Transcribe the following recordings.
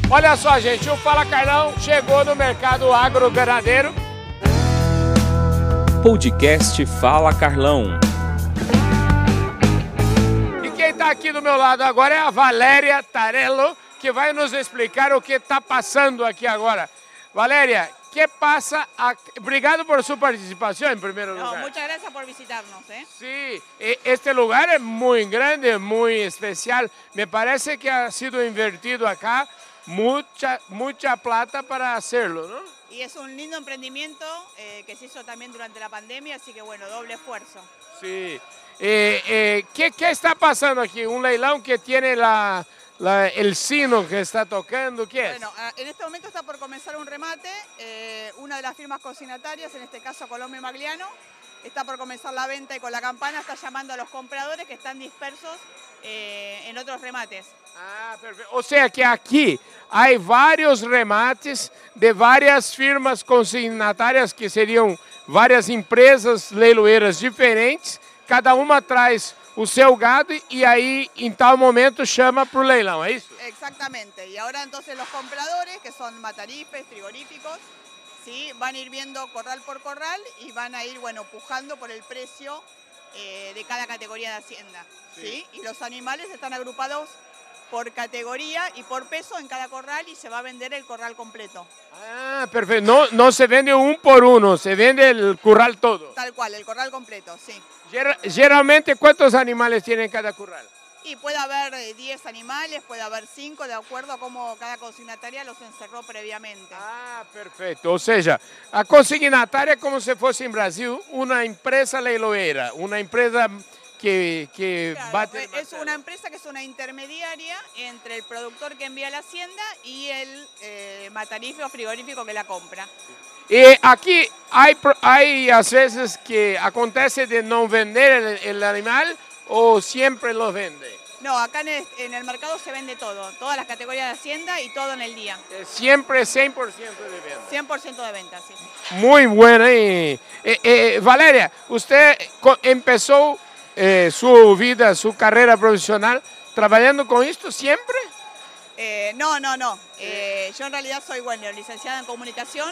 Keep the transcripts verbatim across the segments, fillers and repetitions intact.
Olha só, gente, o Fala Carlão chegou no mercado agro-ganadeiro. Podcast Fala Carlão. E quem está aqui do meu lado agora é a Valéria Tarello, que vai nos explicar o que está passando aqui agora. Valéria, ¿qué pasa? Obrigado por su participación en primer lugar. No, muchas gracias por visitarnos. ¿eh? Sí, este lugar es muy grande, muy especial. Me parece que ha sido invertido acá mucha, mucha plata para hacerlo, ¿no? Y es un lindo emprendimiento eh, que se hizo también durante la pandemia, así que bueno, doble esfuerzo. Sí. Eh, eh, ¿qué, ¿Qué está pasando aquí? Un leilón que tiene la... La, el sino que está tocando, ¿qué es? Bueno, en este momento está por comenzar un remate, eh, una de las firmas consignatarias, en este caso Colombia y Magliano, está por comenzar la venta y con la campana está llamando a los compradores que están dispersos eh, en otros remates. Ah, perfecto. O sea que aquí hay varios remates de varias firmas consignatarias que serían varias empresas leiloeiras diferentes, cada uma traz o seu gado y ahí en tal momento llama para el leilão, ¿es eso? Exactamente, y ahora entonces los compradores, que son matarifes, frigoríficos, ¿sí? Van a ir viendo corral por corral y van a ir, bueno, pujando por el precio eh, de cada categoría de hacienda, ¿sí? ¿sí? Y los animales están agrupados por categoría y por peso en cada corral y se va a vender el corral completo. Ah, perfecto. No, no se vende un por uno, se vende el corral todo. Tal cual, el corral completo, sí. Generalmente, ¿cuántos animales tiene cada corral? Y puede haber diez animales, puede haber cinco, de acuerdo a cómo cada consignataria los encerró previamente. Ah, perfecto. O sea, a consignataria es como si fuese en Brasil una empresa leiloeira, una empresa que, que claro, bate es una empresa que es una intermediaria entre el productor que envía a la hacienda y el eh, matarife o frigorífico que la compra. Y aquí hay, hay a veces que acontece de no vender el, el animal o siempre lo vende. No, acá en el, en el mercado se vende todo, todas las categorías de hacienda y todo en el día. Siempre cien por ciento de venta. cien por ciento de venta, sí. Muy buena. Y, eh, eh, Valeria, usted empezó eh, su vida, su carrera profesional trabajando con esto siempre. Eh, no, no, no. Eh, yo en realidad soy, bueno, licenciada en comunicación.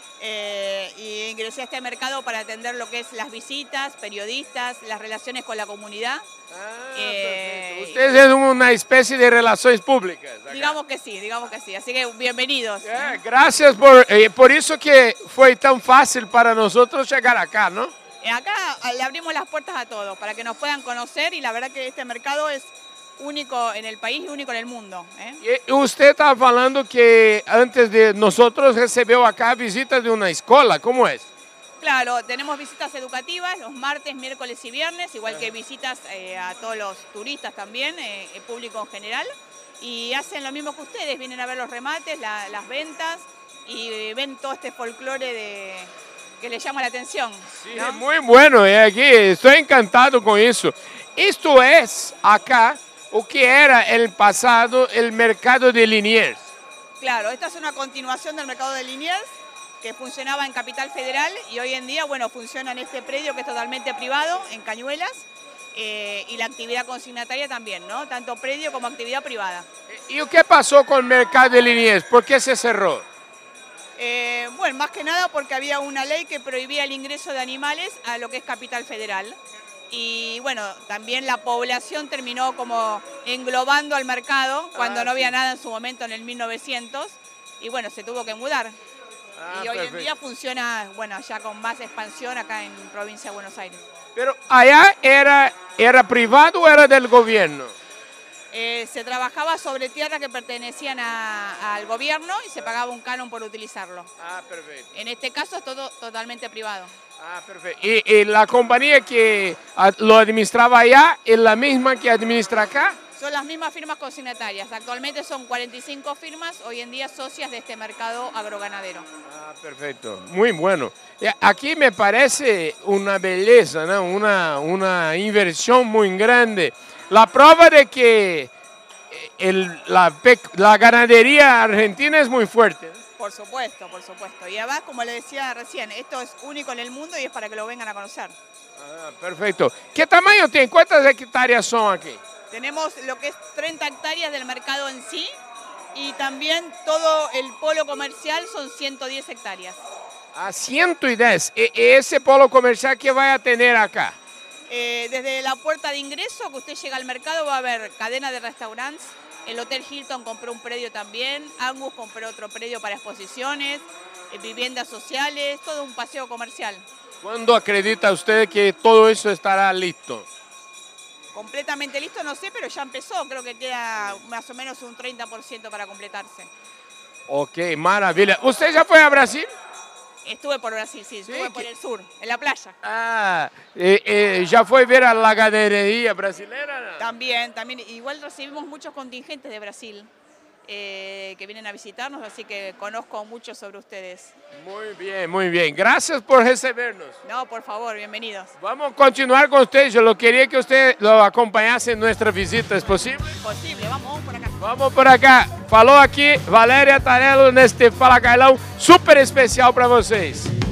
Eh, y ingresé a este mercado para atender lo que es las visitas, periodistas, las relaciones con la comunidad. Ah, eh, Ustedes es una especie de relaciones públicas. Acá. Digamos que sí, digamos que sí. Así que bienvenidos. Yeah, gracias por, eh, por eso que fue tan fácil para nosotros llegar acá, ¿no? Eh, acá le abrimos las puertas a todos para que nos puedan conocer y la verdad que este mercado es único en el país y único en el mundo. ¿eh? Y usted estaba hablando que antes de nosotros recibió acá visitas de una escuela, ¿cómo es? Claro, tenemos visitas educativas los martes, miércoles y viernes, igual que visitas eh, a todos los turistas también, eh, el público en general, y hacen lo mismo que ustedes, vienen a ver los remates, la, las ventas y ven todo este folclore de, que les llama la atención. Sí, ¿no? muy bueno, eh, aquí estoy encantado con eso. Esto es acá o que era el pasado el mercado de Liniers. Claro, esta es una continuación del mercado de Liniers que funcionaba en Capital Federal y hoy en día, bueno, funciona en este predio que es totalmente privado, en Cañuelas, eh, y la actividad consignataria también, ¿no? Tanto predio como actividad privada. ¿Y qué pasó con el mercado de Liniers? ¿Por qué se cerró? Eh, bueno, más que nada porque había una ley que prohibía el ingreso de animales a lo que es Capital Federal. Y bueno, también la población terminó como englobando al mercado cuando ah, no había sí. nada en su momento en el mil novecientos y bueno, se tuvo que mudar. Ah, y hoy perfecto. en día funciona, bueno, ya con más expansión acá en provincia de Buenos Aires. Pero allá era, ¿era privado o era del gobierno? Eh, se trabajaba sobre tierras que pertenecían a, al gobierno y se pagaba un canon por utilizarlo. Ah, perfecto. En este caso es todo totalmente privado. Ah, perfecto. ¿Y, y la compañía que lo administraba allá es la misma que administra acá? Son las mismas firmas consignatarias. Actualmente son cuarenta y cinco firmas, hoy en día socias de este mercado agroganadero. Ah, perfecto. Muy bueno. Aquí me parece una belleza, ¿no? Una, una inversión muy grande. La prueba de que el, la, la ganadería argentina es muy fuerte, ¿no? Por supuesto, por supuesto. Y además, como le decía recién, esto es único en el mundo y es para que lo vengan a conocer. Ah, perfecto. ¿Qué tamaño tiene? ¿Cuántas hectáreas son aquí? Tenemos lo que es treinta hectáreas del mercado en sí y también todo el polo comercial son ciento diez hectáreas. A ciento diez. E ese polo comercial que vai a tener acá? Eh, desde la puerta de ingreso que usted llega al mercado va a haber cadena de restaurantes. El Hotel Hilton compró un predio también, Angus compró otro predio para exposiciones, eh, viviendas sociales, todo un paseo comercial. ¿Cuándo acredita usted que todo eso estará listo? Completamente listo, no sé, pero ya empezó, creo que queda más o menos un treinta por ciento para completarse. Ok, maravilla. ¿Usted ya fue a Brasil? Estuve por Brasil, sí, estuve Sí, por que- el sur, en la playa. Ah, eh, eh, ¿ya fue a ver a la ganadería brasileña? También, también, igual recibimos muchos contingentes de Brasil eh, que vienen a visitarnos, así que conozco mucho sobre ustedes. Muy bien, muy bien. Gracias por recibirnos. No, por favor, bienvenidos. Vamos a continuar con usted. Yo lo quería que usted lo acompañase en nuestra visita. ¿Es posible? Posible, vamos, vamos por acá. Vamos por acá. Falou aqui Valéria Tarello neste Fala Carlão super especial para vocês.